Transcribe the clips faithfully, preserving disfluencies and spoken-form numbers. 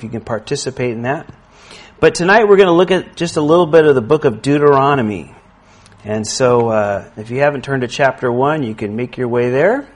if you can participate in that. But tonight we're going to look at just a little bit of the book of Deuteronomy. And so uh, if you haven't turned to chapter one, you can make your way there.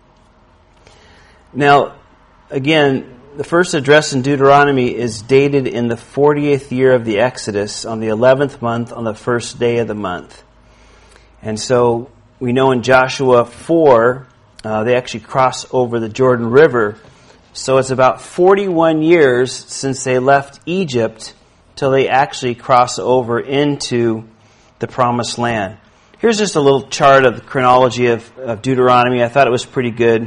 Now, again, the first address in Deuteronomy is dated in the fortieth year of the Exodus, on the eleventh month, on the first day of the month. And so we know in Joshua four, uh, they actually cross over the Jordan River. So it's about forty-one years since they left Egypt till they actually cross over into the Promised Land. Here's just a little chart of the chronology of, of Deuteronomy. I thought it was pretty good.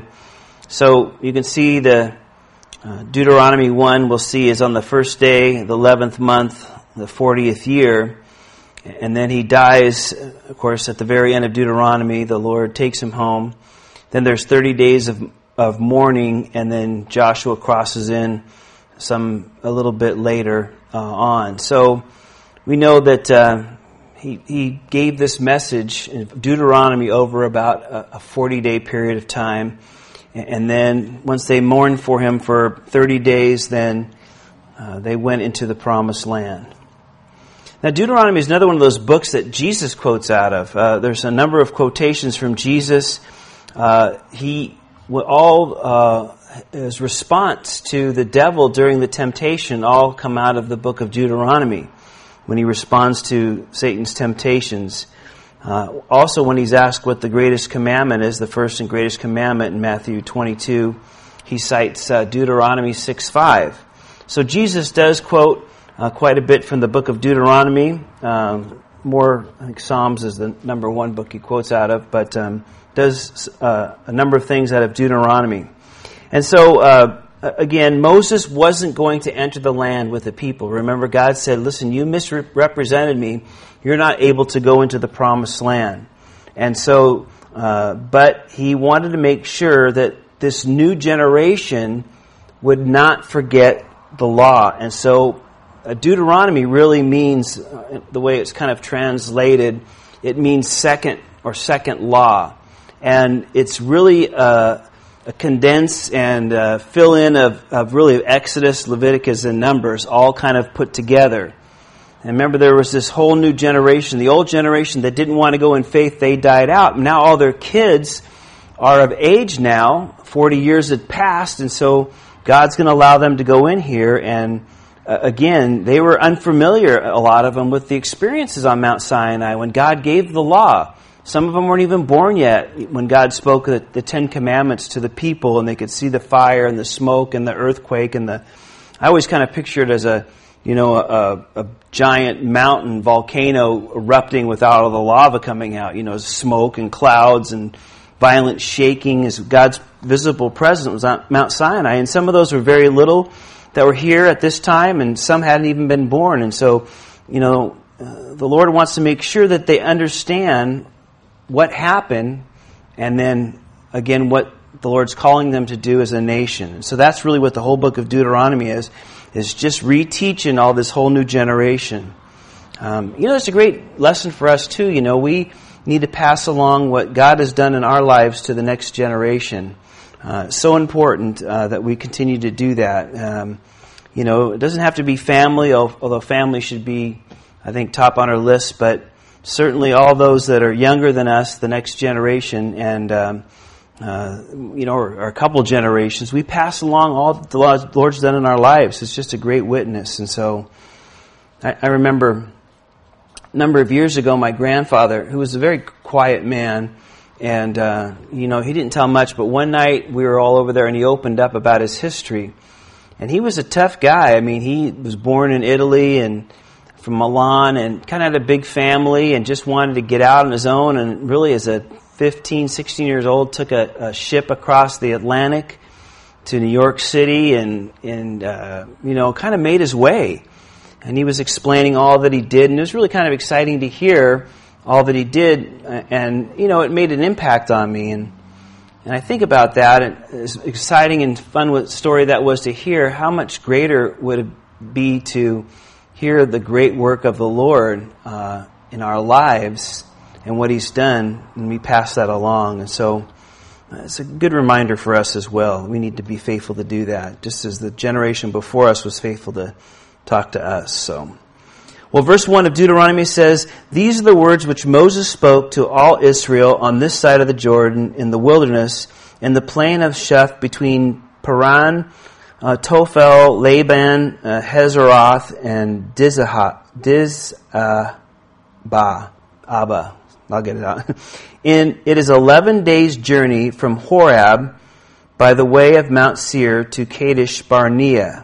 So you can see the uh, Deuteronomy one, we'll see, is on the first day, the eleventh month, the fortieth year. And then he dies, of course, at the very end of Deuteronomy. The Lord takes him home. Then there's thirty days of, of mourning, and then Joshua crosses in some a little bit later uh, on. So we know that uh, he, he gave this message in Deuteronomy over about a forty-day period of time. And then once they mourned for him for thirty days, then uh, they went into the Promised Land. Now, Deuteronomy is another one of those books that Jesus quotes out of. Uh, there's a number of quotations from Jesus. Uh, he, all uh, his response to the devil during the temptation all come out of the book of Deuteronomy when he responds to Satan's temptations. Uh, also, when he's asked what the greatest commandment is, the first and greatest commandment in Matthew twenty-two, he cites uh, Deuteronomy six five. So Jesus does quote uh, quite a bit from the book of Deuteronomy. Um, more, I think Psalms is the number one book he quotes out of, but um, does uh, a number of things out of Deuteronomy. And so, uh, again, Moses wasn't going to enter the land with the people. Remember, God said, listen, you misrepresented me. You're not able to go into the Promised Land. And so, uh, but he wanted to make sure that this new generation would not forget the law. And so uh, Deuteronomy really means, uh, the way it's kind of translated, it means second or second law. And it's really uh, a condense and uh, fill in of, of really Exodus, Leviticus, and Numbers all kind of put together. And remember, there was this whole new generation. The old generation that didn't want to go in faith, they died out. Now all their kids are of age now. forty years had passed, and so God's going to allow them to go in here. And uh, again, they were unfamiliar, a lot of them, with the experiences on Mount Sinai when God gave the law. Some of them weren't even born yet when God spoke the, the Ten Commandments to the people, and they could see the fire and the smoke and the earthquake and the. I always kind of picture it as a, you know, a, a giant mountain volcano erupting with all of the lava coming out. You know, smoke and clouds and violent shaking as God's visible presence was on Mount Sinai. And some of those were very little that were here at this time, and some hadn't even been born. And so, you know, uh, the Lord wants to make sure that they understand what happened, and then, again, what the Lord's calling them to do as a nation. So that's really what the whole book of Deuteronomy is, is just reteaching all this whole new generation. Um, you know, it's a great lesson for us, too. You know, we need to pass along what God has done in our lives to the next generation. Uh, so important uh, that we continue to do that. Um, you know, it doesn't have to be family, although family should be, I think, top on our list, but certainly all those that are younger than us, the next generation, and um, uh, you know, or, or a couple generations, we pass along all that the Lord's done in our lives. It's just a great witness. And so, I, I remember a number of years ago, my grandfather, who was a very quiet man, and uh, you know, he didn't tell much. But one night we were all over there, and he opened up about his history. And he was a tough guy. I mean, he was born in Italy and from Milan, and kind of had a big family and just wanted to get out on his own, and really as a fifteen, sixteen years old took a, a ship across the Atlantic to New York City and, and uh, you know, kind of made his way. And he was explaining all that he did, and it was really kind of exciting to hear all that he did, and, you know, it made an impact on me. And and I think about that, and as exciting and fun story that was to hear, how much greater would it be to hear the great work of the Lord uh, in our lives and what He's done, and we pass that along. And so It's a good reminder for us as well. We need to be faithful to do that, just as the generation before us was faithful to talk to us. So, well, verse one of Deuteronomy says, "These are the words which Moses spoke to all Israel on this side of the Jordan in the wilderness, in the plain of Sheph between Paran, uh, Tophel, Laban, uh, Hazeroth, and Dizah, Dizabah, Abba." I'll get it out. In, it is eleven days' journey from Horeb by the way of Mount Seir to Kadesh Barnea.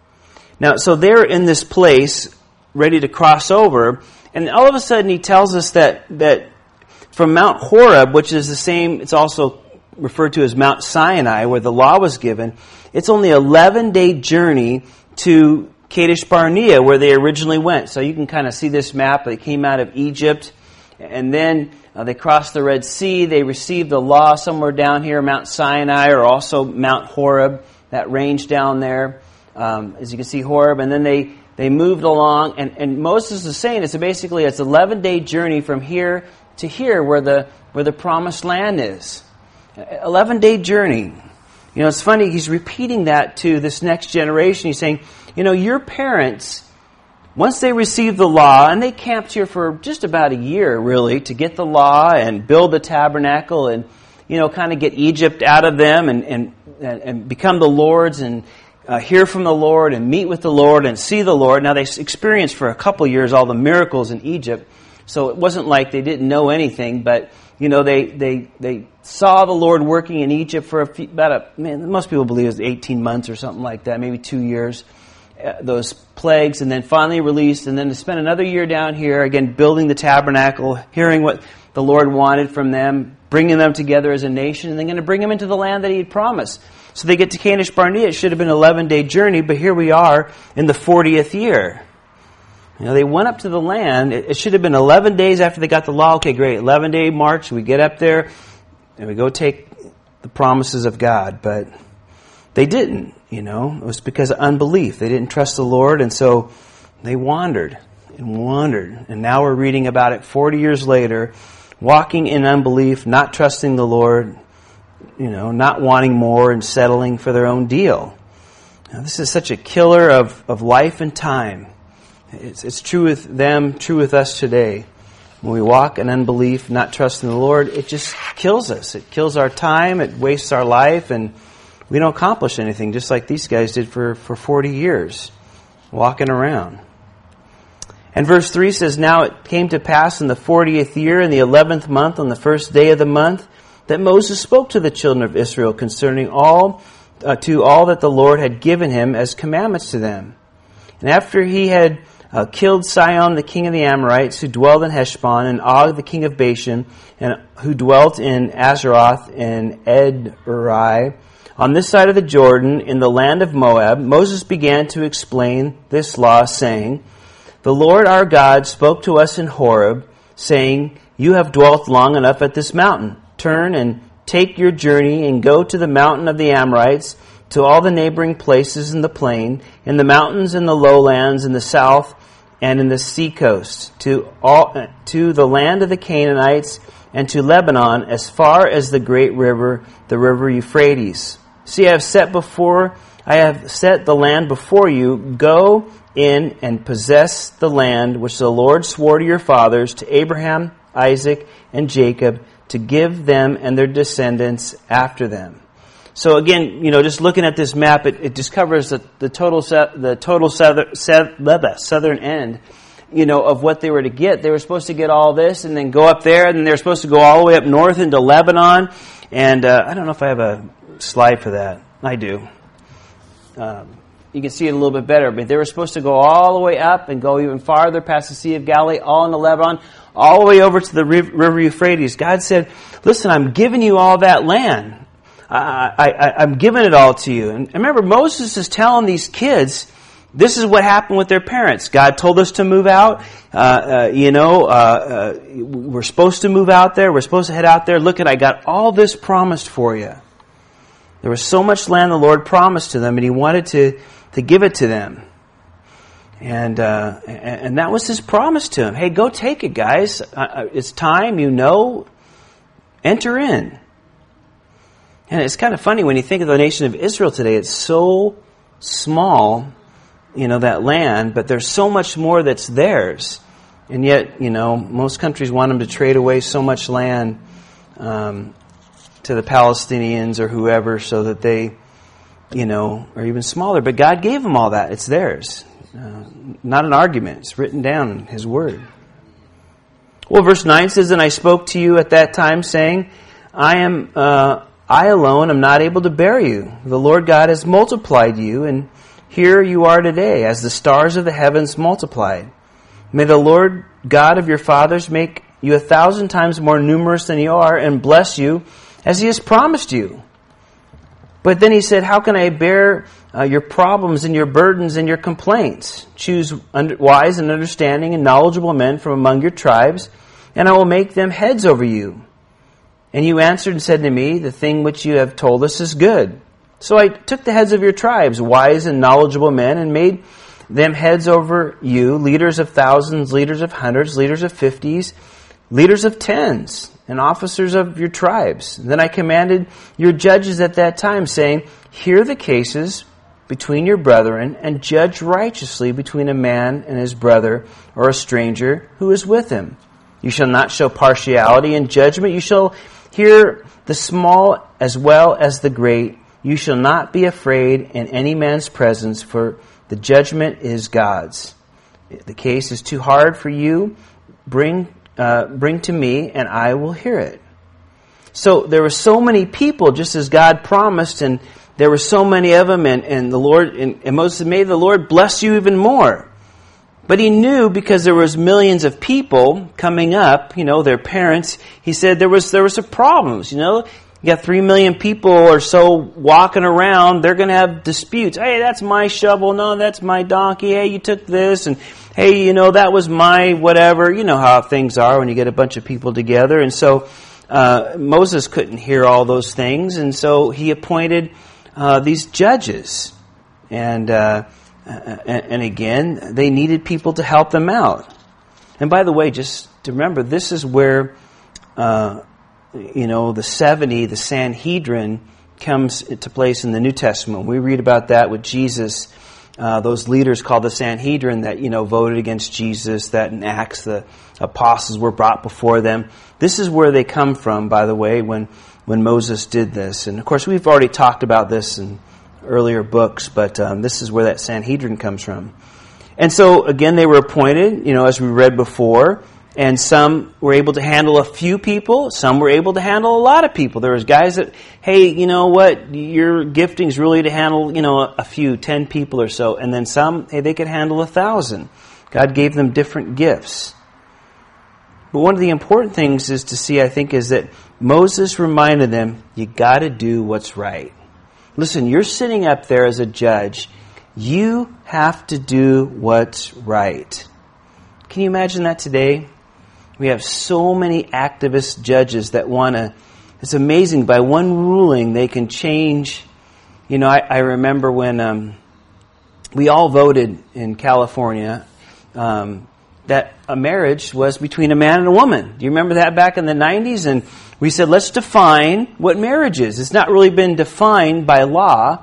Now, so they're in this place, ready to cross over, and all of a sudden he tells us that, that from Mount Horeb, which is the same, it's also referred to as Mount Sinai, where the law was given, it's only an eleven-day journey to Kadesh Barnea, where they originally went. So you can kind of see this map. They came out of Egypt, and then uh, they crossed the Red Sea. They received the law somewhere down here, Mount Sinai, or also Mount Horeb, that range down there. Um, as you can see, Horeb. And then they, they moved along. And, and Moses is saying it's basically it's an eleven-day journey from here to here, where the where the promised land is. eleven-day journey. You know, it's funny. He's repeating that to this next generation. He's saying, you know, your parents, once they received the law, and they camped here for just about a year, really, to get the law and build the tabernacle and, you know, kind of get Egypt out of them and, and, and become the Lord's and uh, hear from the Lord and meet with the Lord and see the Lord. Now, they experienced for a couple years all the miracles in Egypt, so it wasn't like they didn't know anything, but, you know, they, they, they saw the Lord working in Egypt for a few, about a, man, most people believe it was eighteen months or something like that, maybe two years. Those plagues, and then finally released, and then to spend another year down here, again, building the tabernacle, hearing what the Lord wanted from them, bringing them together as a nation, and then going to bring them into the land that He had promised. So they get to Kadesh Barnea. It should have been an eleven-day journey, but here we are in the fortieth year. You know, they went up to the land. It should have been eleven days after they got the law. Okay, great, eleven-day march. We get up there, and we go take the promises of God, but they didn't. You know, it was because of unbelief. They didn't trust the Lord, and so they wandered and wandered. And now we're reading about it forty years later, walking in unbelief, not trusting the Lord, you know, not wanting more and settling for their own deal. Now, this is such a killer of, of life and time. It's, it's true with them, true with us today. When we walk in unbelief, not trusting the Lord, it just kills us. It kills our time, it wastes our life, and we don't accomplish anything, just like these guys did for, for forty years, walking around. And verse three says, "Now it came to pass in the fortieth year, in the eleventh month, on the first day of the month, that Moses spoke to the children of Israel concerning all, uh, to all that the Lord had given him as commandments to them. And after he had uh, killed Sihon, the king of the Amorites, who dwelled in Heshbon, and Og, the king of Bashan, and who dwelt in Azeroth and Edrei, on this side of the Jordan, in the land of Moab, Moses began to explain this law, saying, The Lord our God spoke to us in Horeb, saying, You have dwelt long enough at this mountain. Turn and take your journey and go to the mountain of the Amorites, to all the neighboring places in the plain, in the mountains and the lowlands, in the south and in the sea coast, to all to the land of the Canaanites, and to Lebanon, as far as the great river, the river Euphrates. See, I have set before, I have set the land before you. Go in and possess the land which the Lord swore to your fathers, to Abraham, Isaac, and Jacob, to give them and their descendants after them." So again, you know, just looking at this map, it, it just covers the, the total the total southern, southern end, you know, of what they were to get. They were supposed to get all this and then go up there, and then they were supposed to go all the way up north into Lebanon. And uh, I don't know if I have a slide for that. I do. Um, you can see it a little bit better, but they were supposed to go all the way up and go even farther past the Sea of Galilee, all into Lebanon, all the way over to the river Euphrates. God said, listen, I'm giving you all that land. I, I, I'm giving it all to you. And remember, Moses is telling these kids, this is what happened with their parents. God told us to move out. Uh, uh, you know, uh, uh, we're supposed to move out there. We're supposed to head out there. Look at, I got all this promised for you. There was so much land the Lord promised to them, and He wanted to, to give it to them. And uh, and that was His promise to them. Hey, go take it, guys. Uh, it's time, you know. Enter in. And it's kind of funny when you think of the nation of Israel today, it's so small, you know, that land, but there's so much more that's theirs. And yet, you know, most countries want them to trade away so much land um, to the Palestinians or whoever so that they, you know, are even smaller. But God gave them all that. It's theirs. Uh, not an argument. It's written down in His Word. Well, verse nine says, "And I spoke to you at that time, saying, I am, uh, I alone am not able to bear you. The Lord God has multiplied you, and here you are today, as the stars of the heavens multiplied. May the Lord God of your fathers make you a thousand times more numerous than you are, and bless you as He has promised you." But then He said, "How can I bear uh, your problems and your burdens and your complaints? Choose under, wise and understanding and knowledgeable men from among your tribes, and I will make them heads over you." And you answered and said to me, "The thing which you have told us is good." So I took the heads of your tribes, wise and knowledgeable men, and made them heads over you, leaders of thousands, leaders of hundreds, leaders of fifties, leaders of tens, and officers of your tribes. And then I commanded your judges at that time, saying, "Hear the cases between your brethren, and judge righteously between a man and his brother, or a stranger who is with him. You shall not show partiality in judgment. You shall hear the small as well as the great. You shall not be afraid in any man's presence, for the judgment is God's. If the case is too hard for you, bring uh, bring to me, and I will hear it." So there were so many people, just as God promised, and there were so many of them, and, and the Lord and, and Moses said, "May the Lord bless you even more." But He knew, because there was millions of people coming up, you know, their parents, He said there was there were some problems, you know. You got three million people or so walking around. They're going to have disputes. Hey, that's my shovel. No, that's my donkey. Hey, you took this. And hey, you know, that was my whatever. You know how things are when you get a bunch of people together. And so uh, Moses couldn't hear all those things. And so he appointed uh, these judges. And, uh, and, and again, they needed people to help them out. And by the way, just to remember, this is where... Uh, You know, the seventy, the Sanhedrin, comes into place in the New Testament. We read about that with Jesus. Uh, those leaders called the Sanhedrin that, you know, voted against Jesus, that in Acts the apostles were brought before them. This is where they come from, by the way, when, when Moses did this. And of course, we've already talked about this in earlier books, but um, this is where that Sanhedrin comes from. And so, again, they were appointed, you know, as we read before. And some were able to handle a few people. Some were able to handle a lot of people. There was guys that, hey, you know what, your gifting's really to handle, you know, a few, ten people or so. And then some, hey, they could handle a thousand. God gave them different gifts. But one of the important things is to see, I think, is that Moses reminded them, you got to do what's right. Listen, you're sitting up there as a judge. You have to do what's right. Can you imagine that today? We have so many activist judges that want to, it's amazing, by one ruling they can change. You know, I, I remember when um, we all voted in California um, that a marriage was between a man and a woman. Do you remember that back in the nineties? And we said, let's define what marriage is. It's not really been defined by law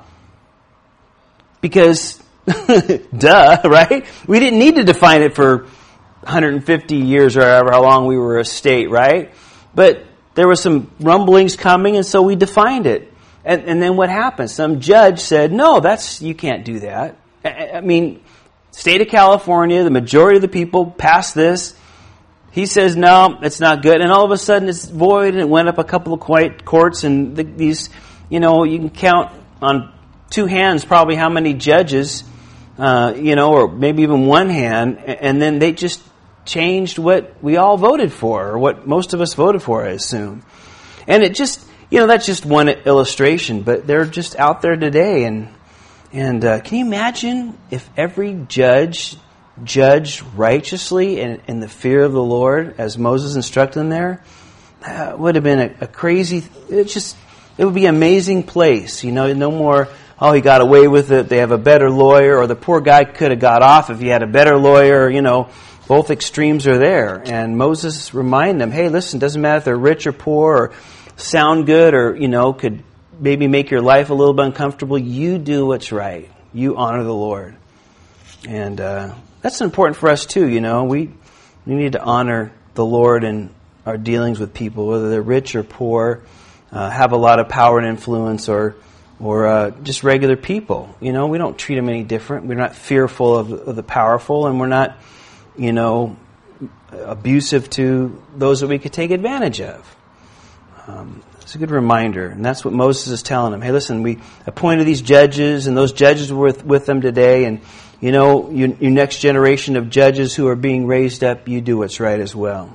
because, duh, right? We didn't need to define it for one hundred fifty years or however how long we were a state, right? But there were some rumblings coming, and so we defined it. And, and then what happened? Some judge said, no, that's you can't do that. I, I mean, state of California, the majority of the people passed this. He says, no, it's not good. And all of a sudden it's void, and it went up a couple of quiet courts, and the, these, you know, you can count on two hands probably how many judges, uh, you know, or maybe even one hand, and then they just changed what we all voted for, or what most of us voted for, I assume. And it just, you know, that's just one illustration, but they're just out there today. And and uh, can you imagine if every judge judged righteously and in the fear of the Lord, as Moses instructed them there? That would have been a, a crazy, it just, it would be an amazing place. You know, no more, oh, he got away with it, they have a better lawyer, or the poor guy could have got off if he had a better lawyer, you know. Both extremes are there. And Moses reminded them, hey, listen, it doesn't matter if they're rich or poor or sound good or, you know, could maybe make your life a little bit uncomfortable, you do what's right. You honor the Lord. And uh, that's important for us too, you know. We, we need to honor the Lord in our dealings with people, whether they're rich or poor, uh, have a lot of power and influence, or or uh, just regular people. You know, we don't treat them any different. We're not fearful of, of the powerful, and we're not, you know, abusive to those that we could take advantage of. Um, it's a good reminder, and that's what Moses is telling them. Hey, listen, we appointed these judges, and those judges were with, with them today, and you know, your, your next generation of judges who are being raised up, you do what's right as well.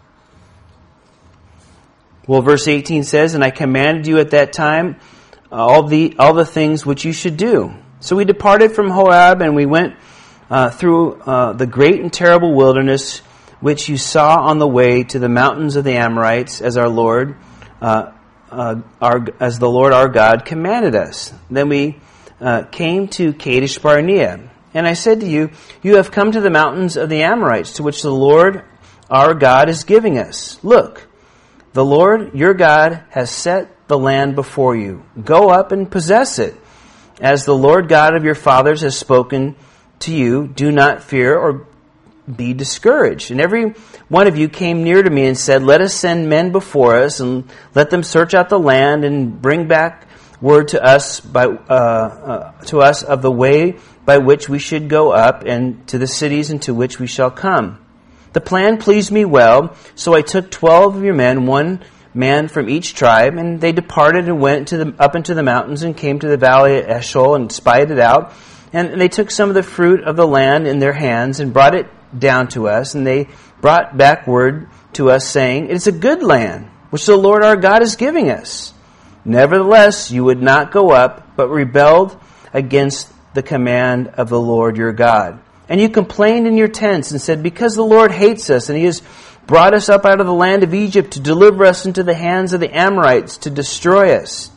Well, verse eighteen says, and I commanded you at that time all the all the things which you should do. So we departed from Horeb, and we went uh, through uh, the great and terrible wilderness, which you saw on the way to the mountains of the Amorites, as our Lord, uh, uh, our as the Lord our God commanded us. Then we uh, came to Kadesh Barnea, and I said to you, you have come to the mountains of the Amorites, to which the Lord our God is giving us. Look, the Lord your God has set the land before you. Go up and possess it. As the Lord God of your fathers has spoken to you, do not fear or be discouraged. And every one of you came near to me and said, let us send men before us, and let them search out the land and bring back word to us by uh, uh, to us of the way by which we should go up, and to the cities into which we shall come. The plan pleased me well, so I took twelve of your men, one man from each tribe, and they departed and went to the, up into the mountains and came to the valley of Eshcol and spied it out. And they took some of the fruit of the land in their hands and brought it down to us, and they brought back word to us, saying, it is a good land, which the Lord our God is giving us. Nevertheless, you would not go up, but rebelled against the command of the Lord your God. And you complained in your tents and said, because the Lord hates us, and he has brought us up out of the land of Egypt to deliver us into the hands of the Amorites to destroy us.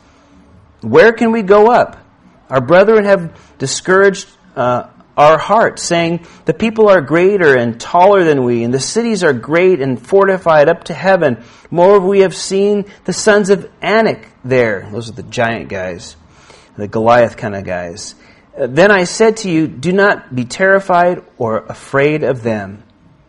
Where can we go up? Our brethren have discouraged uh, our hearts, saying, the people are greater and taller than we, and the cities are great and fortified up to heaven. Moreover, we have seen the sons of Anak there. Those are the giant guys, the Goliath kind of guys. Then I said to you, do not be terrified or afraid of them.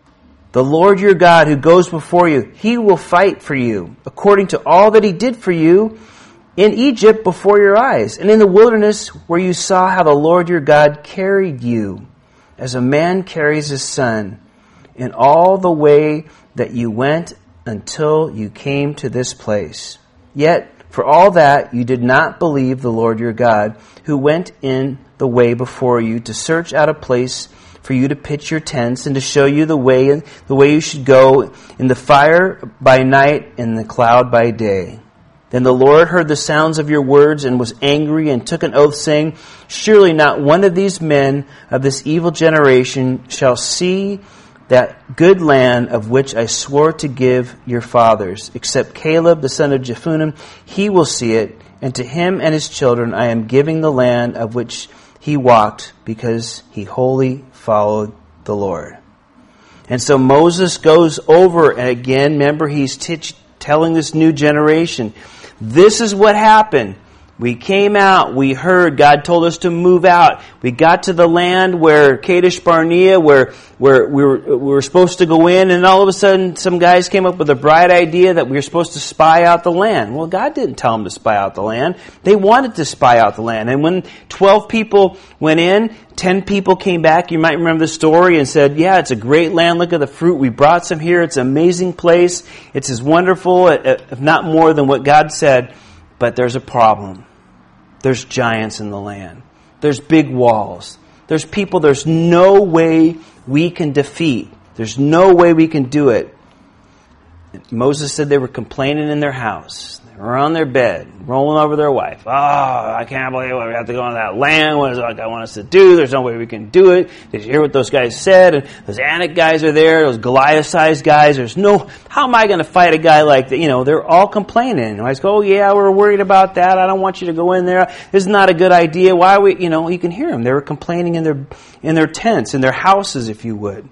The Lord your God who goes before you, he will fight for you, according to all that he did for you in Egypt before your eyes, and in the wilderness where you saw how the Lord your God carried you, as a man carries his son, in all the way that you went until you came to this place. Yet, for all that, you did not believe the Lord your God, who went in the way before you to search out a place for you to pitch your tents, and to show you the way the way you should go, in the fire by night and the cloud by day. Then the Lord heard the sounds of your words and was angry, and took an oath, saying, surely not one of these men of this evil generation shall see that good land of which I swore to give your fathers, except Caleb the son of Jephunneh. He will see it, and to him and his children I am giving the land of which he walked, because he wholly followed the Lord. And so Moses goes over, and again, remember, he's t- telling this new generation, this is what happened. We came out, we heard, God told us to move out. We got to the land where Kadesh Barnea, where, where we were, we were supposed to go in, and all of a sudden some guys came up with a bright idea that we were supposed to spy out the land. Well, God didn't tell them to spy out the land. They wanted to spy out the land. And when twelve people went in, ten people came back, you might remember the story, and said, yeah, it's a great land, look at the fruit, we brought some here, it's an amazing place, it's as wonderful, if not more than what God said, but there's a problem. There's giants in the land. There's big walls. There's people there's no way we can defeat. There's no way we can do it. Moses said they were complaining in their house. They were on their bed, rolling over their wife. Oh, I can't believe we have to go on that land. What does God want us to do? There's no way we can do it. Did you hear what those guys said? And those Anak guys are there. Those Goliath-sized guys. There's no, how am I going to fight a guy like that? You know, they're all complaining. And I go, oh yeah, we're worried about that. I don't want you to go in there. This is not a good idea. Why are we, you know, you can hear them. They were complaining in their, in their tents, in their houses, if you would.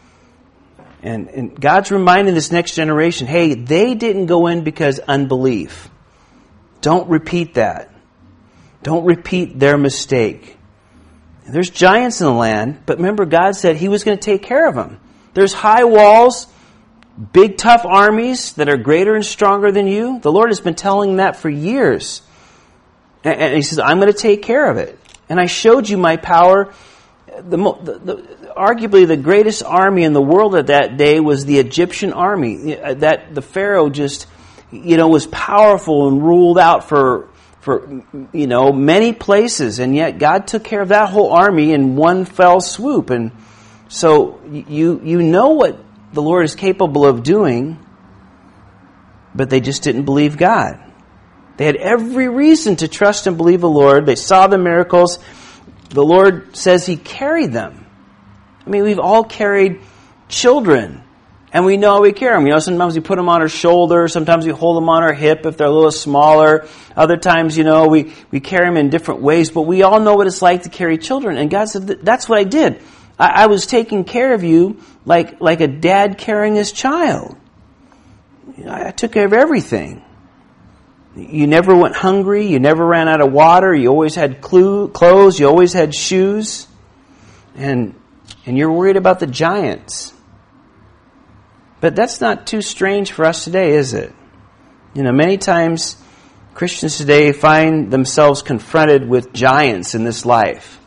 And, and God's reminding this next generation, hey, they didn't go in because unbelief. Don't repeat that. Don't repeat their mistake. There's giants in the land, but remember God said He was going to take care of them. There's high walls, big tough armies that are greater and stronger than you. The Lord has been telling that for years. And He says, I'm going to take care of it. And I showed you my power. The, the, the, arguably the greatest army in the world at that day was the Egyptian army. That the Pharaoh just, you know, was powerful and ruled out for, for, you know, many places. And yet God took care of that whole army in one fell swoop. And so you, you know what the Lord is capable of doing, but they just didn't believe God. They had every reason to trust and believe the Lord. They saw the miracles. The Lord says He carried them. I mean, we've all carried children, and we know we carry them. You know, sometimes we put them on our shoulder. Sometimes we hold them on our hip if they're a little smaller. Other times, you know, we, we carry them in different ways. But we all know what it's like to carry children. And God said, that's what I did. I, I was taking care of you like, like a dad carrying his child. I took care of everything. You never went hungry. You never ran out of water. You always had clothes. You always had shoes. And and you're worried about the giants. But that's not too strange for us today, is it? You know, many times Christians today find themselves confronted with giants in this life.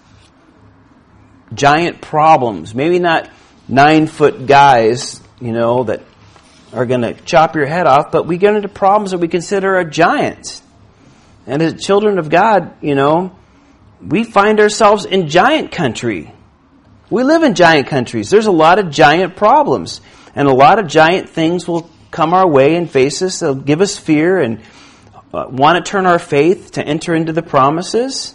Giant problems. Maybe not nine-foot guys, you know, that are going to chop your head off, but we get into problems that we consider a giant. And as children of God, you know, we find ourselves in giant country. We live in giant countries. There's a lot of giant problems. And a lot of giant things will come our way and face us. They'll give us fear and uh, want to turn our faith to enter into the promises.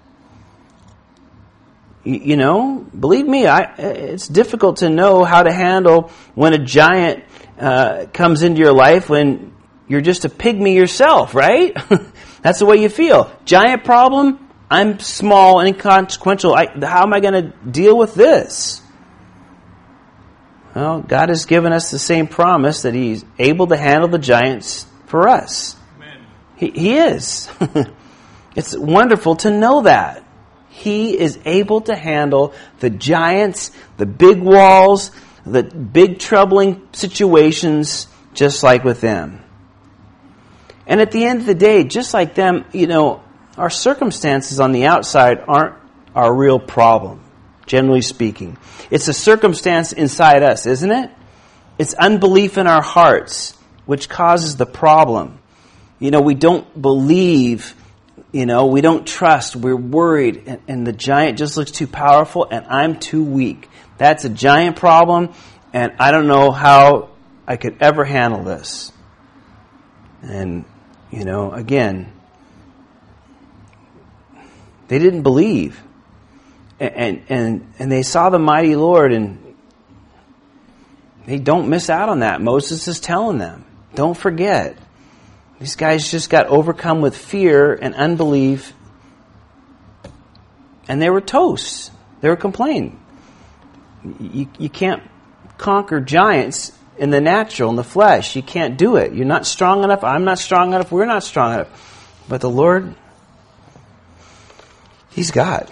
You, you know, believe me, I, it's difficult to know how to handle when a giant uh, comes into your life when you're just a pygmy yourself, right? That's the way you feel. Giant problem, I'm small and inconsequential. I, how am I going to deal with this? Well, God has given us the same promise that He's able to handle the giants for us. Amen. He, he is. It's wonderful to know that. He is able to handle the giants, the big walls, the big troubling situations, just like with them. And at the end of the day, just like them, you know, our circumstances on the outside aren't our real problem, generally speaking. It's a circumstance inside us, isn't it? It's unbelief in our hearts, which causes the problem. You know, we don't believe, you know, we don't trust, we're worried, and, and the giant just looks too powerful, and I'm too weak. That's a giant problem, and I don't know how I could ever handle this. And, you know, again, they didn't believe. And, and, and they saw the mighty Lord, and they don't miss out on that. Moses is telling them, don't forget. These guys just got overcome with fear and unbelief, and they were toast. They were complaining. You, you can't conquer giants in the natural, in the flesh. You can't do it. You're not strong enough. I'm not strong enough. We're not strong enough. But the Lord, He's God.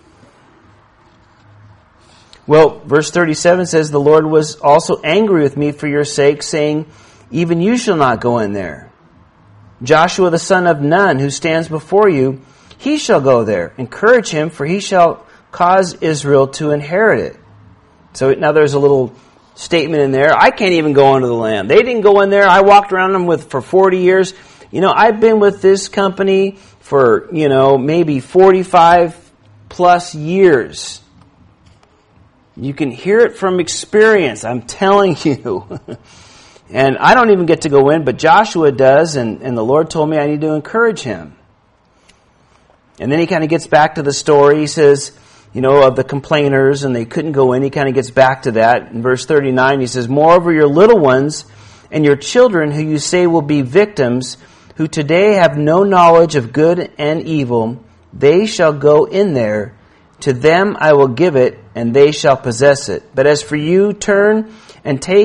Well, verse thirty-seven says, the Lord was also angry with me for your sake, saying, even you shall not go in there. Joshua the son of Nun, who stands before you, he shall go there. Encourage him, for he shall cause Israel to inherit it. So now there's a little statement in there. I can't even go into the land. They didn't go in there. I walked around them with for forty years. You know, I've been with this company for, you know, maybe forty-five plus years. You can hear it from experience, I'm telling you. And I don't even get to go in, but Joshua does, and, and the Lord told me I need to encourage him. And then he kind of gets back to the story. He says, you know, of the complainers, and they couldn't go in. He kind of gets back to that. In verse thirty-nine, he says, moreover, your little ones and your children, who you say will be victims, who today have no knowledge of good and evil, they shall go in there. To them I will give it, and they shall possess it. But as for you, turn and take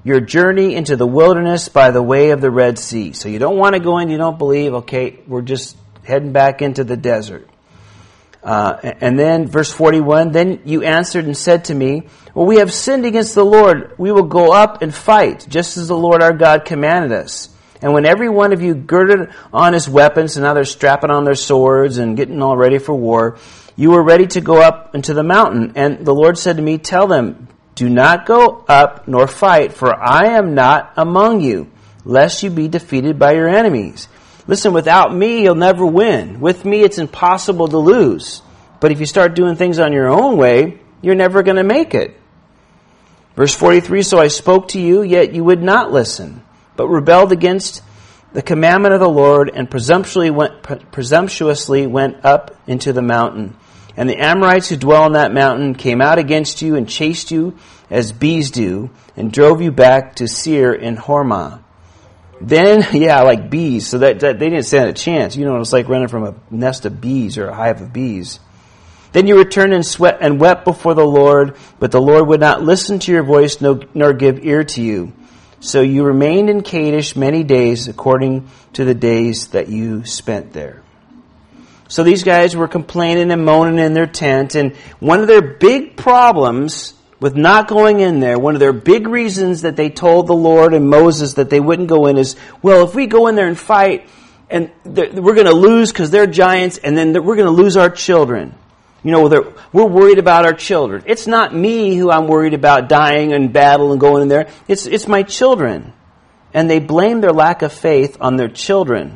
your journey into the wilderness by the way of the Red Sea. So you don't want to go in, you don't believe, okay, we're just heading back into the desert. Uh, and then verse forty-one, then you answered and said to me, well, we have sinned against the Lord. We will go up and fight, just as the Lord our God commanded us. And when every one of you girded on his weapons, and now they're strapping on their swords and getting all ready for war, you were ready to go up into the mountain. And the Lord said to me, tell them, do not go up nor fight, for I am not among you, lest you be defeated by your enemies. Listen, without me, you'll never win. With me, it's impossible to lose. But if you start doing things on your own way, you're never going to make it. Verse forty-three, so I spoke to you, yet you would not listen, but rebelled against the commandment of the Lord and presumptuously went, presumptuously went up into the mountain. And the Amorites who dwell on that mountain came out against you and chased you as bees do, and drove you back to Seir in Hormah. Then, yeah, like bees, so that, that they didn't stand a chance. You know, it's like running from a nest of bees or a hive of bees. Then you returned and sweat and wept before the Lord, but the Lord would not listen to your voice no, nor give ear to you. So you remained in Kadesh many days according to the days that you spent there. So these guys were complaining and moaning in their tent, and one of their big problems with not going in there, one of their big reasons that they told the Lord and Moses that they wouldn't go in is, well, if we go in there and fight, and we're going to lose because they're giants, and then we're going to lose our children. You know, we're worried about our children. It's not me who I'm worried about dying in battle and going in there. It's it's my children. And they blame their lack of faith on their children.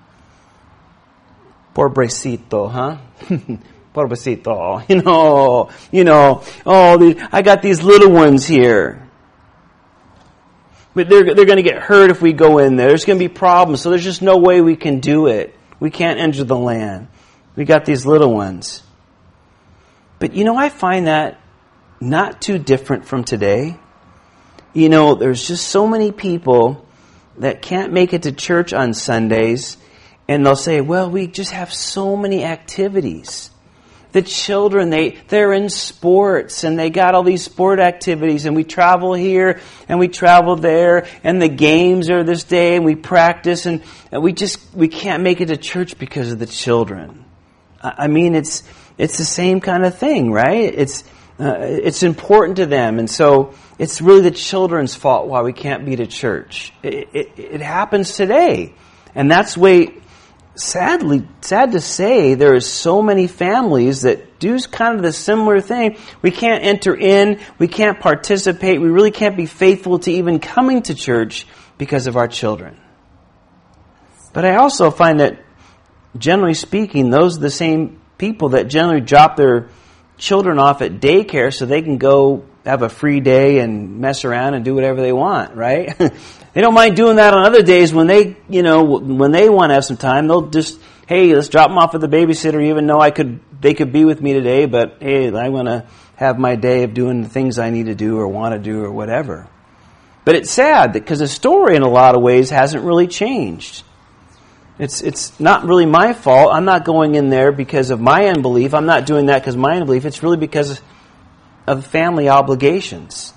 Pobrecito, huh? Pobrecito. You know, you know, oh, the, I got these little ones here. But they're, they're going to get hurt if we go in there. There's going to be problems. So there's just no way we can do it. We can't enter the land. We got these little ones. But, you know, I find that not too different from today. You know, there's just so many people that can't make it to church on Sundays, and they'll say, well, we just have so many activities. The children, they, they're in sports, and they got all these sport activities, and we travel here, and we travel there, and the games are this day, and we practice, and, and we just, we can't make it to church because of the children. I, I mean, it's... It's the same kind of thing, right? It's uh, it's important to them, and so it's really the children's fault why we can't be to church. It, it, it happens today, and that's way sadly sad to say there is so many families that do kind of the similar thing. We can't enter in, we can't participate, we really can't be faithful to even coming to church because of our children. But I also find that, generally speaking, those are the same people that generally drop their children off at daycare so they can go have a free day and mess around and do whatever they want, right? They don't mind doing that on other days when they, you know, when they want to have some time. They'll just, hey, let's drop them off at the babysitter, even though I could, they could be with me today, but hey, I want to have my day of doing the things I need to do or want to do or whatever. But it's sad because the story in a lot of ways hasn't really changed. It's it's not really my fault. I'm not going in there because of my unbelief. I'm not doing that because of my unbelief. It's really because of family obligations.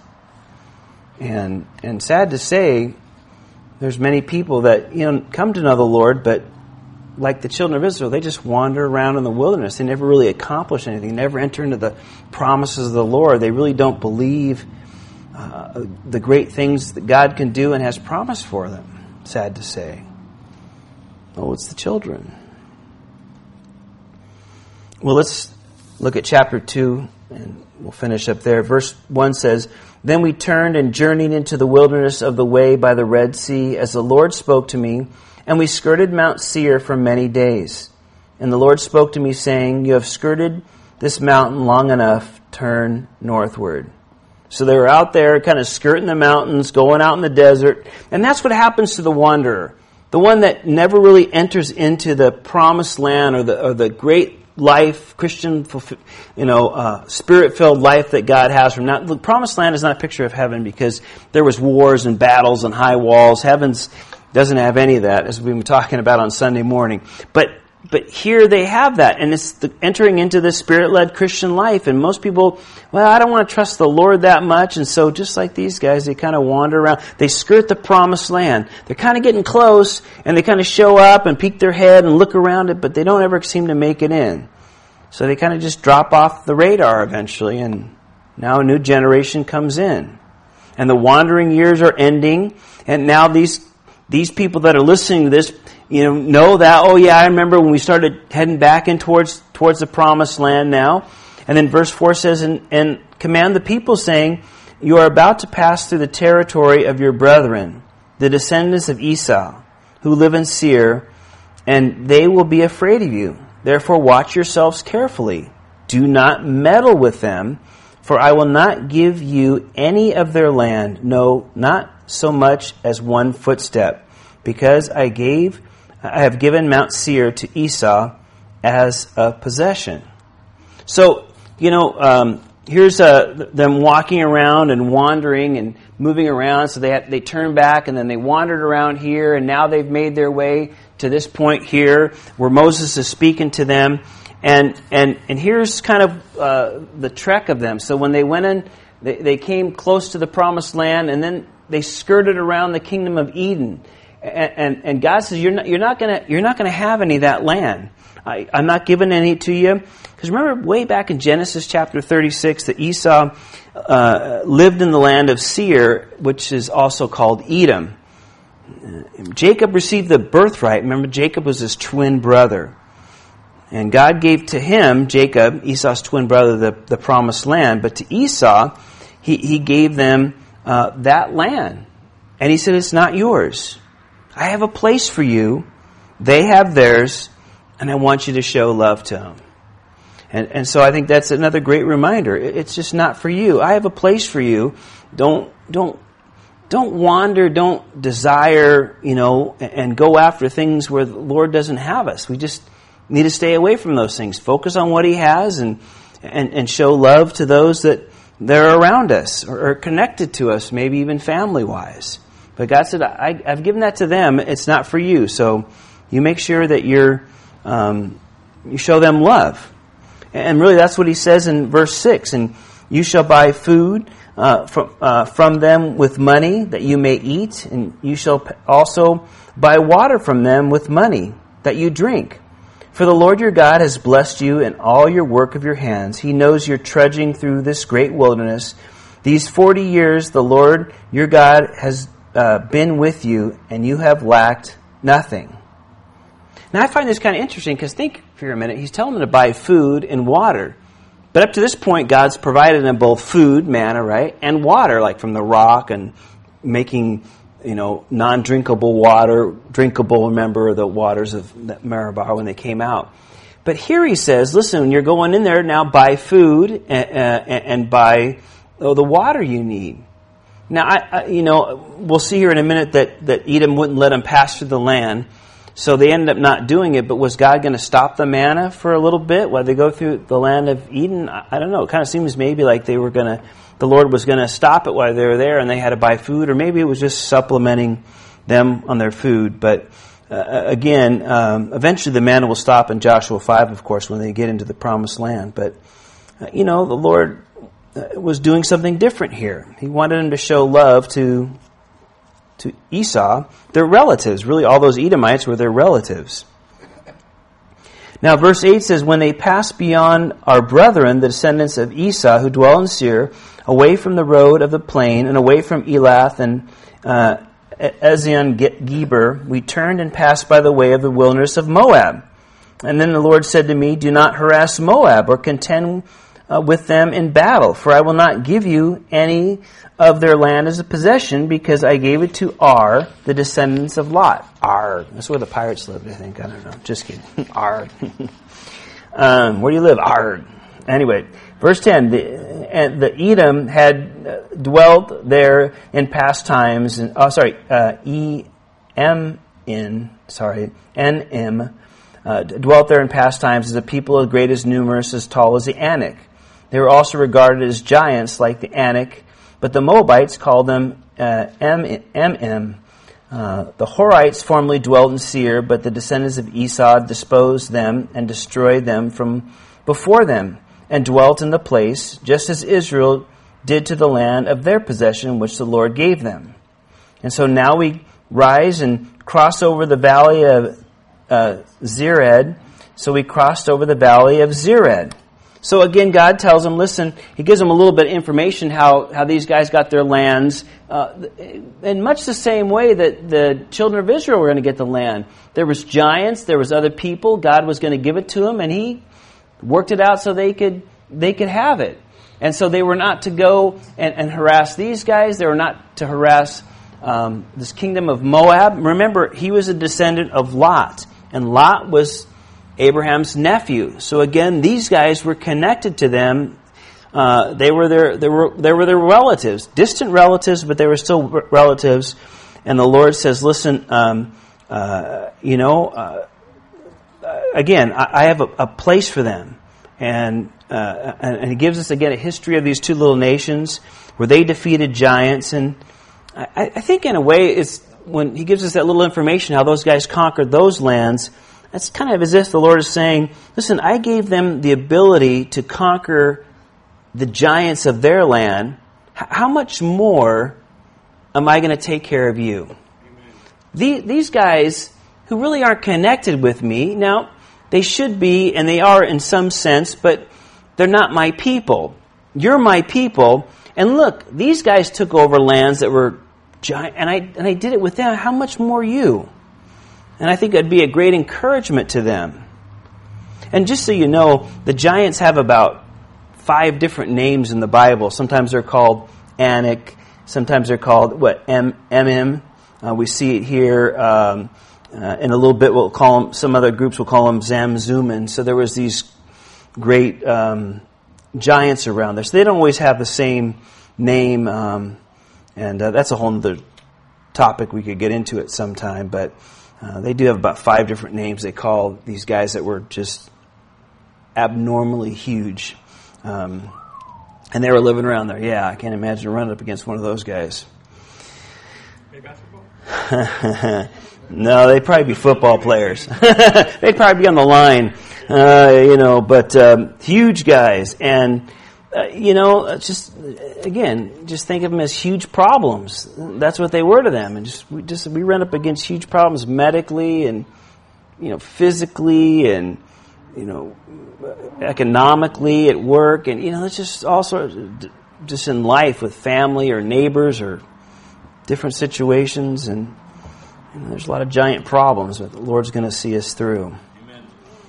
And and sad to say, there's many people that, you know, come to know the Lord, but like the children of Israel, they just wander around in the wilderness. They never really accomplish anything. They never enter into the promises of the Lord. They really don't believe uh, the great things that God can do and has promised for them. Sad to say. Oh, it's the children. Well, let's look at chapter two, and we'll finish up there. Verse one says, then we turned and journeyed into the wilderness of the way by the Red Sea, as the Lord spoke to me, and we skirted Mount Seir for many days. And the Lord spoke to me, saying, you have skirted this mountain long enough, turn northward. So they were out there kind of skirting the mountains, going out in the desert, and that's what happens to the wanderer. The one that never really enters into the promised land or the or the great life, Christian, you know, uh, spirit-filled life that God has from now. The promised land is not a picture of heaven because there was wars and battles and high walls. Heaven's doesn't have any of that, as we've been talking about on Sunday morning. But but here they have that, and it's the, entering into the Spirit-led Christian life. And most people, well, I don't want to trust the Lord that much, and so just like these guys, they kind of wander around. They skirt the promised land. They're kind of getting close, and they kind of show up and peek their head and look around it, but they don't ever seem to make it in. So they kind of just drop off the radar eventually, and now a new generation comes in. And the wandering years are ending, and now these these people that are listening to this, you know, know that, oh yeah, I remember when we started heading back in towards towards the promised land now. And then verse four says, and, and command the people, saying, you are about to pass through the territory of your brethren, the descendants of Esau, who live in Seir, and they will be afraid of you. Therefore watch yourselves carefully. Do not meddle with them, for I will not give you any of their land, no, not so much as one footstep, because I gave, I have given Mount Seir to Esau as a possession. So, you know, um, here's uh, them walking around and wandering and moving around. So they had, they turned back and then they wandered around here, and now they've made their way to this point here where Moses is speaking to them. And and and here's kind of uh, the trek of them. So when they went in, they, they came close to the promised land, and then they skirted around the kingdom of Eden. And and, and God says, you're not you're not gonna you're not gonna have any of that land. I, I'm not giving any to you. Because remember, way back in Genesis chapter thirty-six, that Esau uh, lived in the land of Seir, which is also called Edom. Jacob received the birthright. Remember, Jacob was his twin brother. And God gave to him, Jacob, Esau's twin brother, the, the promised land. But to Esau, he, he gave them uh, that land. And he said, it's not yours. I have a place for you. They have theirs. And I want you to show love to them. And, and so I think that's another great reminder. It's just not for you. I have a place for you. Don't, don't, don't wander, don't desire, you know, and go after things where the Lord doesn't have us. We just need to stay away from those things. Focus on what He has, and and, and show love to those that, that are around us or are connected to us, maybe even family-wise. But God said, I, I've given that to them. It's not for you. So you make sure that you're um, you show them love. And really that's what He says in verse six. And you shall buy food uh, from, uh, from them with money that you may eat. And you shall also buy water from them with money that you drink. For the Lord your God has blessed you in all your work of your hands. He knows you're trudging through this great wilderness. These forty years the Lord your God has uh, been with you, and you have lacked nothing. Now I find this kind of interesting, because think for a minute, He's telling them to buy food and water. But up to this point, God's provided them both food, manna, right, and water, like from the rock, and making, you know, non-drinkable water drinkable. Remember the waters of Meribah when they came out. But here He says, listen, you're going in there now, buy food and, uh, and buy oh, the water you need. Now, I, I, you know, we'll see here in a minute that, that Edom wouldn't let them pass through the land. So they ended up not doing it. But was God going to stop the manna for a little bit while they go through the land of Eden? I, I don't know. It kind of seems maybe like they were going to, the Lord was going to stop it while they were there and they had to buy food, or maybe it was just supplementing them on their food. But uh, again, um, eventually the manna will stop in Joshua five, of course, when they get into the promised land. But, uh, you know, the Lord uh, was doing something different here. He wanted them to show love to to Esau, their relatives. Really, all those Edomites were their relatives. Now, verse eight says, when they pass beyond our brethren, the descendants of Esau, who dwell in Seir, away from the road of the plain, and away from Elath and uh, Ezion-Geber, we turned and passed by the way of the wilderness of Moab. And then the Lord said to me, do not harass Moab, or contend uh, with them in battle, for I will not give you any of their land as a possession, because I gave it to Ar, the descendants of Lot. Ar. That's where the pirates lived, I think. I don't know. Just kidding. Ar. um, where do you live? Ar. Anyway, verse ten. The, and the Edom had dwelt there in past times. And, oh, sorry. Uh, E M N. Sorry. N M. Uh, dwelt there in past times as a people as great, as numerous, as tall as the Anak. They were also regarded as giants like the Anak. But the Moabites called them uh, M M, Uh, the Horites formerly dwelt in Seir, but the descendants of Esau disposed them and destroyed them from before them, and dwelt in the place, just as Israel did to the land of their possession, which the Lord gave them. And so now we rise and cross over the valley of uh, Zered. So we crossed over the valley of Zered. So again, God tells them, listen, He gives them a little bit of information how, how these guys got their lands, uh, in much the same way that the children of Israel were going to get the land. There was giants, there was other people, God was going to give it to them, and He worked it out so they could they could have it. And so they were not to go and, and harass these guys, they were not to harass um, this kingdom of Moab. Remember, he was a descendant of Lot, and Lot was Abraham's nephew. So again, these guys were connected to them. Uh, they were their, they were, they were their relatives, distant relatives, but they were still relatives. And the Lord says, "Listen, um, uh, you know, uh, again, I, I have a, a place for them." And, uh, and and He gives us again a history of these two little nations where they defeated giants. And I, I think in a way, it's when He gives us that little information how those guys conquered those lands. That's kind of as if the Lord is saying, listen, I gave them the ability to conquer the giants of their land. H- how much more am I going to take care of you? The, these guys who really aren't connected with me, now, they should be, and they are in some sense, but they're not my people. You're my people. And look, these guys took over lands that were giant, and I, and I did it with them. How much more you? And I think it'd be a great encouragement to them. And just so you know, the giants have about five different names in the Bible. Sometimes they're called Anak. Sometimes they're called, what, M M. Uh, we see it here. Um, uh, in a little bit, we'll call them, some other groups will call them Zamzummim. So there was these great um, giants around there. So they don't always have the same name. Um, and uh, that's a whole other topic we could get into at some time. But Uh, they do have about five different names they call these guys that were just abnormally huge. Um, and they were living around there. Yeah, I can't imagine running up against one of those guys. Maybe basketball? No, they'd probably be football players. They'd probably be on the line, uh, you know, but um, huge guys. And, uh, you know, just, again, just think of them as huge problems. That's what they were to them. And just we, just, we run up against huge problems medically and, you know, physically and, you know, economically at work. And, you know, it's just all sorts of, just in life with family or neighbors or different situations. And, you know, there's a lot of giant problems that the Lord's going to see us through. Amen.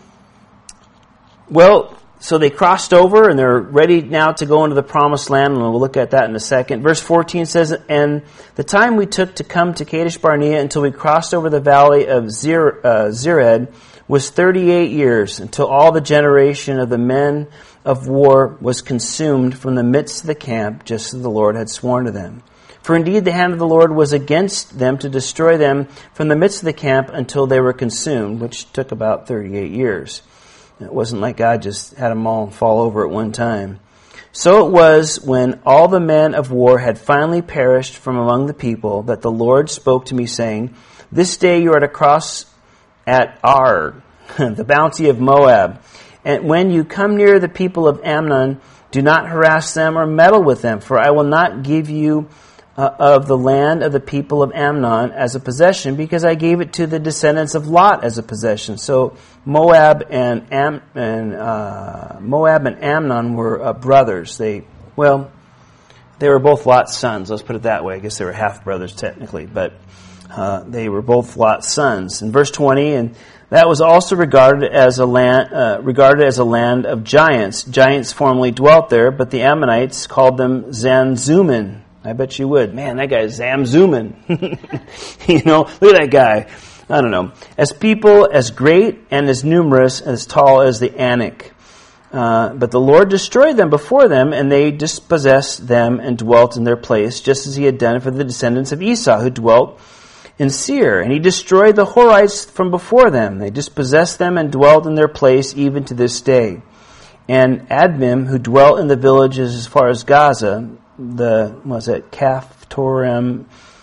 Well, so they crossed over, and they're ready now to go into the promised land, and we'll look at that in a second. Verse fourteen says, "And the time we took to come to Kadesh Barnea until we crossed over the valley of Zer, uh, Zered was thirty-eight years, until all the generation of the men of war was consumed from the midst of the camp, just as the Lord had sworn to them. For indeed the hand of the Lord was against them to destroy them from the midst of the camp until they were consumed," which took about thirty-eight years. It wasn't like God just had them all fall over at one time. "So it was when all the men of war had finally perished from among the people that the Lord spoke to me, saying, This day you are to cross at Ar, the bounty of Moab. And when you come near the people of Ammon, do not harass them or meddle with them, for I will not give you uh, of the land of the people of Ammon as a possession, because I gave it to the descendants of Lot as a possession." So Moab and Am, and uh, Moab and Ammon were uh, brothers. They well, they were both Lot's sons. Let's put it that way. I guess they were half brothers technically, but uh, they were both Lot's sons. In verse twenty, and that was also regarded as a land uh, regarded as a land of giants. Giants formerly dwelt there, but the Ammonites called them Zamzummim. I bet you would. Man, that guy is Zamzummim. You know, look at that guy. I don't know. As people as great and as numerous and as tall as the Anak. Uh, but the Lord destroyed them before them, and they dispossessed them and dwelt in their place, just as He had done for the descendants of Esau, who dwelt in Seir. And He destroyed the Horites from before them. They dispossessed them and dwelt in their place even to this day. And Admim, who dwelt in the villages as far as Gaza, the, what was it, Caphtorim,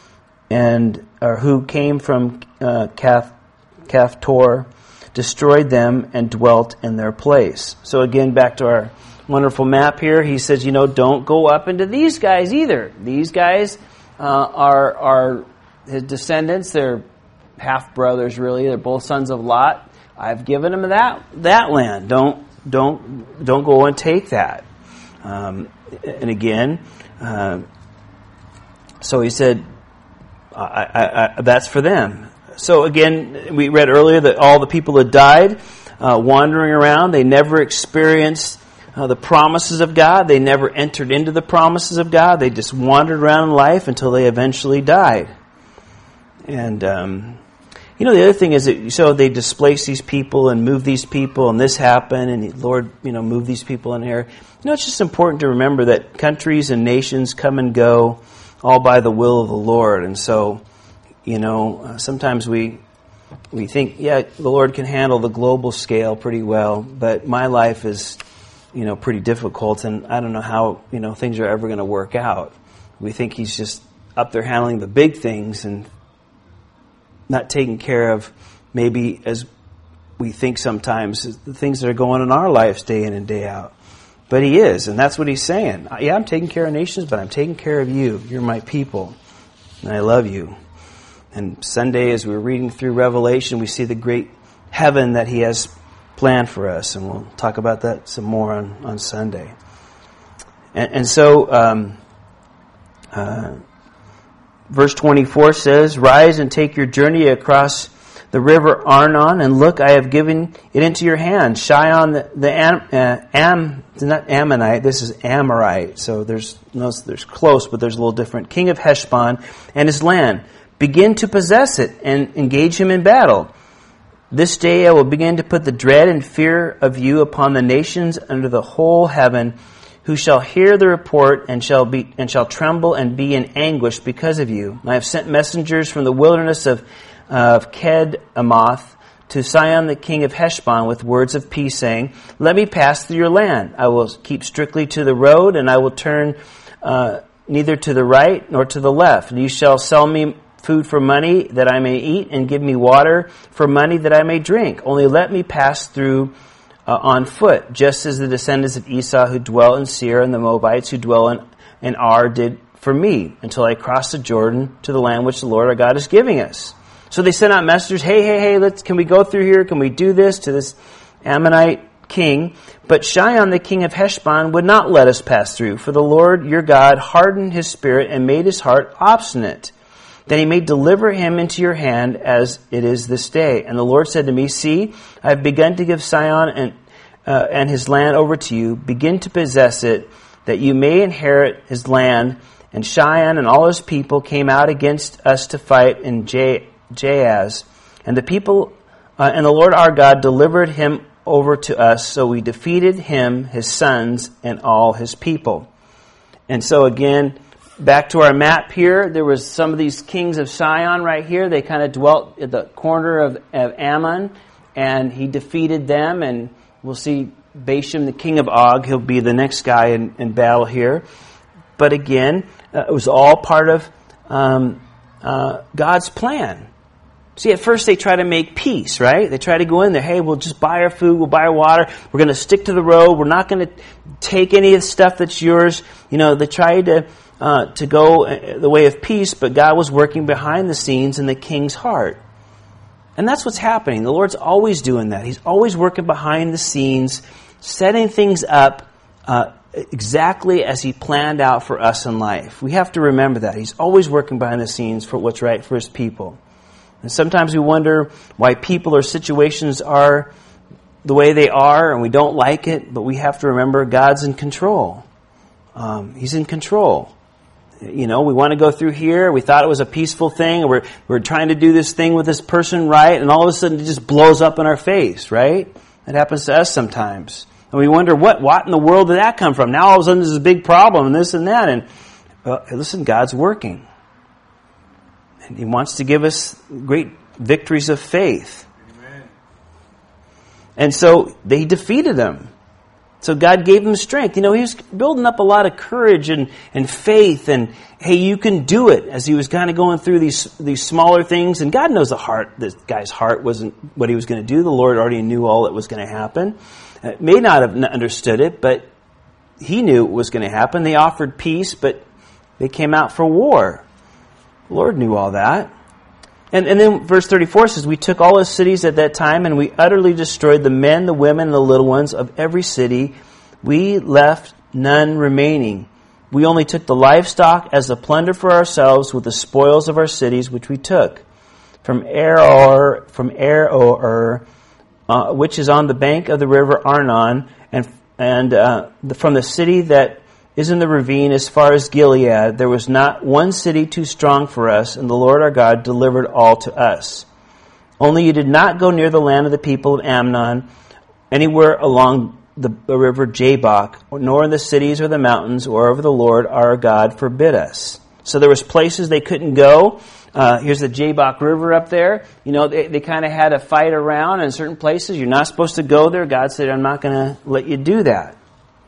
and or who came from uh, Kath, Kaphtor, destroyed them and dwelt in their place. So again, back to our wonderful map here. He says, you know, don't go up into these guys either. These guys uh, are are his descendants. They're half brothers, really. They're both sons of Lot. I've given them that that land. Don't don't don't go and take that. Um, and again, uh, so he said, I, I, I, that's for them. So again, we read earlier that all the people had died, uh, wandering around. They never experienced uh, the promises of God. They never entered into the promises of God. They just wandered around in life until they eventually died. And, um, you know, the other thing is that, so they displace these people and move these people, and this happened, and the Lord, you know, move these people in here. You know, it's just important to remember that countries and nations come and go all by the will of the Lord. And so, you know, uh, sometimes we we think, yeah, the Lord can handle the global scale pretty well, but my life is, you know, pretty difficult, and I don't know how, you know, things are ever going to work out. We think He's just up there handling the big things and not taking care of, maybe as we think sometimes, the things that are going on in our lives day in and day out. But He is, and that's what He's saying. Yeah, I'm taking care of nations, but I'm taking care of you. You're my people, and I love you. And Sunday, as we were reading through Revelation, we see the great heaven that He has planned for us, and we'll talk about that some more on, on Sunday. And, and so, um, uh, verse twenty-four says, "Rise and take your journey across the river Arnon, and look, I have given it into your hand. Shion, the, the Am, uh, Am, not Ammonite, this is Amorite. So there's no, there's close, but there's a little different. King of Heshbon and his land. Begin to possess it and engage him in battle. This day I will begin to put the dread and fear of you upon the nations under the whole heaven, who shall hear the report and shall be and shall tremble and be in anguish because of you. I have sent messengers from the wilderness of of Kedemoth to Sihon the king of Heshbon with words of peace, saying, let me pass through your land. I will keep strictly to the road, and I will turn uh, neither to the right nor to the left. And you shall sell me food for money that I may eat, and give me water for money that I may drink. Only let me pass through uh, on foot, just as the descendants of Esau who dwell in Seir and the Moabites who dwell in, in Ar did for me, until I cross the Jordan to the land which the Lord our God is giving us. So they sent out messengers, hey, hey, hey, let's, can we go through here? Can we do this to this Ammonite king? But Shion, the king of Heshbon, would not let us pass through, for the Lord your God hardened his spirit and made his heart obstinate, that he may deliver him into your hand as it is this day. And the Lord said to me, see, I have begun to give Sihon and, uh, and his land over to you. Begin to possess it, that you may inherit his land. And Shion and all his people came out against us to fight in J. Jahaz, and the people uh, and the Lord our God delivered him over to us, so we defeated him, his sons, and all his people. And so again, back to our map here, there was some of these kings of Sihon right here. They kind of dwelt at the corner of, of Ammon, and he defeated them, and we'll see Bashan, the king of Og, he'll be the next guy in, in battle here. But again, uh, it was all part of um, uh, God's plan. See, at first they try to make peace, right? They try to go in there, hey, we'll just buy our food, we'll buy our water, we're going to stick to the road, we're not going to take any of the stuff that's yours. You know, they tried to uh, to go the way of peace, but God was working behind the scenes in the king's heart. And that's what's happening. The Lord's always doing that. He's always working behind the scenes, setting things up uh, exactly as He planned out for us in life. We have to remember that. He's always working behind the scenes for what's right for His people. And sometimes we wonder why people or situations are the way they are, and we don't like it, but we have to remember God's in control. Um, he's in control. You know, we want to go through here, we thought it was a peaceful thing, and we're, we're trying to do this thing with this person right, and all of a sudden it just blows up in our face, right? It happens to us sometimes. And we wonder, what what in the world did that come from? Now all of a sudden there's a big problem, and this and that, and uh, listen, God's working. And He wants to give us great victories of faith. Amen. And so they defeated them. So God gave him strength. You know, he was building up a lot of courage and, and faith and, hey, you can do it, as he was kind of going through these these smaller things. And God knows the heart. This guy's heart wasn't what he was going to do. The Lord already knew all that was going to happen. Uh, may not have understood it, but he knew it was going to happen. They offered peace, but they came out for war. The Lord knew all that. And, and then verse thirty-four says, we took all his cities at that time, and we utterly destroyed the men, the women, and the little ones of every city. We left none remaining. We only took the livestock as a plunder for ourselves with the spoils of our cities, which we took. From Aroer, from Aroer, uh, which is on the bank of the river Arnon, and, and uh, the, from the city that is in the ravine as far as Gilead, there was not one city too strong for us, and the Lord our God delivered all to us. Only you did not go near the land of the people of Ammon, anywhere along the river Jabbok, nor in the cities or the mountains, wherever the Lord our God forbid us. So there was places they couldn't go. Uh, here's the Jabbok River up there. You know, they, they kind of had a fight around in certain places. You're not supposed to go there. God said, I'm not going to let you do that.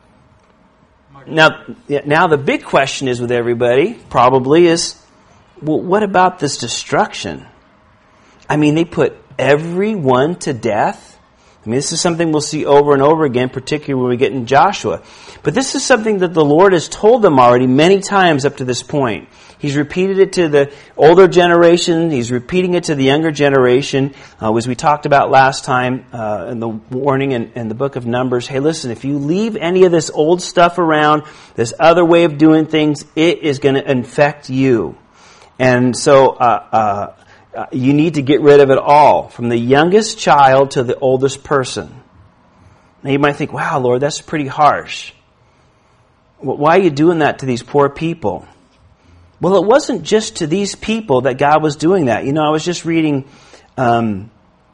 Now, now the big question is with everybody, probably, is, well, what about this destruction? I mean, they put everyone to death. I mean, this is something we'll see over and over again, particularly when we get in Joshua. But this is something that the Lord has told them already many times up to this point. He's repeated it to the older generation. He's repeating it to the younger generation. Uh, as we talked about last time uh, in the warning in, in the book of Numbers, hey, listen, if you leave any of this old stuff around, this other way of doing things, it is going to infect you. And so uh, uh, you need to get rid of it all, from the youngest child to the oldest person. Now you might think, wow, Lord, that's pretty harsh. Well, why are you doing that to these poor people? Well, it wasn't just to these people that God was doing that. You know, I was just reading um,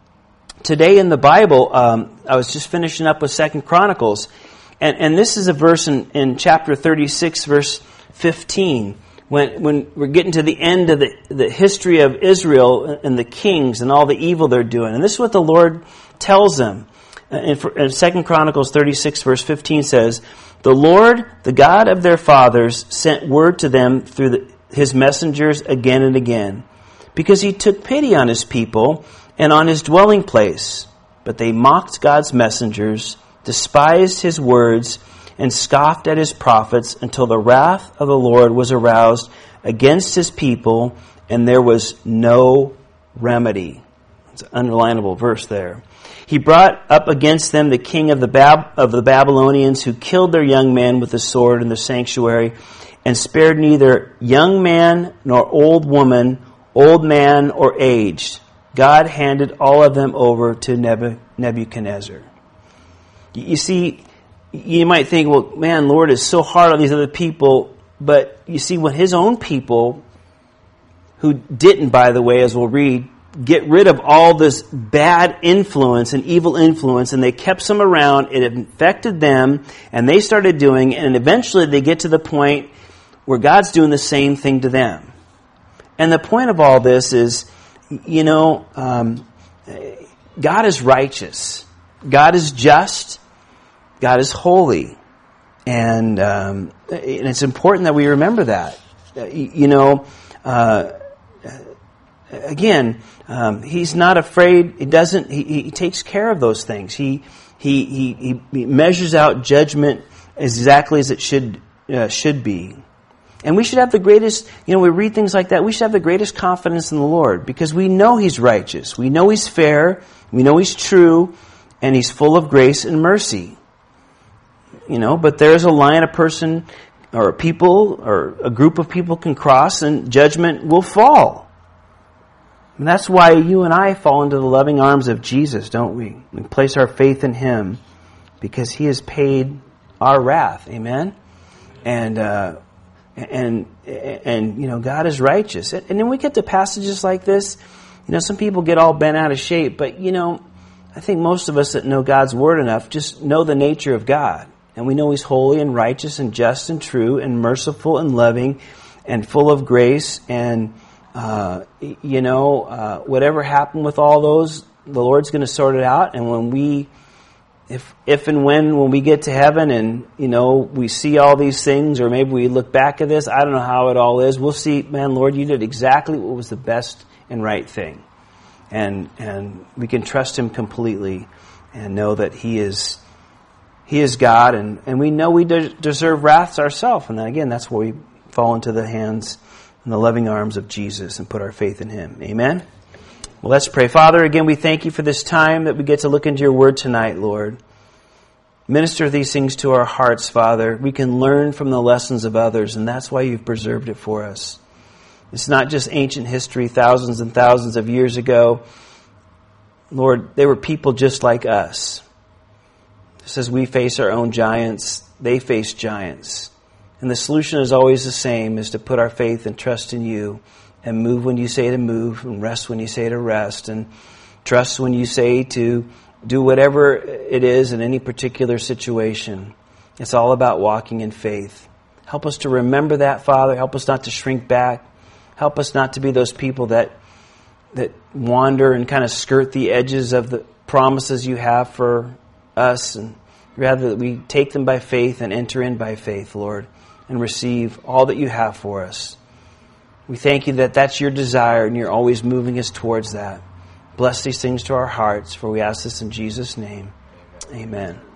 today in the Bible. Um, I was just finishing up with Second Chronicles, and and this is a verse in, in chapter thirty-six, verse fifteen. When when we're getting to the end of the the history of Israel and the kings and all the evil they're doing, and this is what the Lord tells them. In, in Second Chronicles thirty-six, verse fifteen says, "The Lord, the God of their fathers, sent word to them through the, his messengers again and again, because he took pity on his people and on his dwelling place. But they mocked God's messengers, despised his words, and scoffed at his prophets until the wrath of the Lord was aroused against his people, and there was no remedy." It's an underlinable verse there. "He brought up against them the king of the Bab- of the Babylonians, who killed their young men with the sword in the sanctuary, and spared neither young man nor old woman, old man or aged. God handed all of them over to Nebu- Nebuchadnezzar." You see, you might think, well, man, Lord is so hard on these other people. But you see, when his own people, who didn't, by the way, as we'll read, get rid of all this bad influence and evil influence, and they kept some around, it infected them, and they started doing it, and eventually they get to the point where God's doing the same thing to them. And the point of all this is, you know, um, God is righteous. God is just. God is holy. And, um, and it's important that we remember that. You know, uh, again, um, he's not afraid. He doesn't. He, he takes care of those things. He he he, he measures out judgment exactly as it should uh, should be. And we should have the greatest. You know, we read things like that. We should have the greatest confidence in the Lord, because we know He's righteous. We know He's fair. We know He's true, and He's full of grace and mercy. You know, but there's a line a person or a people or a group of people can cross, and judgment will fall. And that's why you and I fall into the loving arms of Jesus, don't we? We place our faith in Him because He has paid our wrath. Amen? And, uh, and, and, you know, God is righteous. And then we get to passages like this. You know, some people get all bent out of shape, but, you know, I think most of us that know God's Word enough just know the nature of God. And we know He's holy and righteous and just and true and merciful and loving and full of grace. And, uh, you know, uh, whatever happened with all those, the Lord's going to sort it out. And when we if if and when when we get to heaven and, you know, we see all these things, or maybe we look back at this, I don't know how it all is, we'll see, man, Lord, you did exactly what was the best and right thing. And and we can trust him completely and know that he is he is God, and, and we know we de- deserve wraths ourselves. And then again, that's where we fall into the hands and the loving arms of Jesus and put our faith in him. Amen? Well, let's pray. Father, again, we thank you for this time that we get to look into your word tonight, Lord. Minister these things to our hearts, Father. We can learn from the lessons of others, and that's why you've preserved it for us. It's not just ancient history thousands and thousands of years ago. Lord, they were people just like us. Just as we face our own giants, they face giants. And the solution is always the same, is to put our faith and trust in you, and move when you say to move, and rest when you say to rest, and trust when you say to do whatever it is in any particular situation. It's all about walking in faith. Help us to remember that, Father. Help us not to shrink back. Help us not to be those people that that wander and kind of skirt the edges of the promises you have for us, and rather that we take them by faith and enter in by faith, Lord, and receive all that you have for us. We thank you that that's your desire, and you're always moving us towards that. Bless these things to our hearts, for we ask this in Jesus' name. Amen.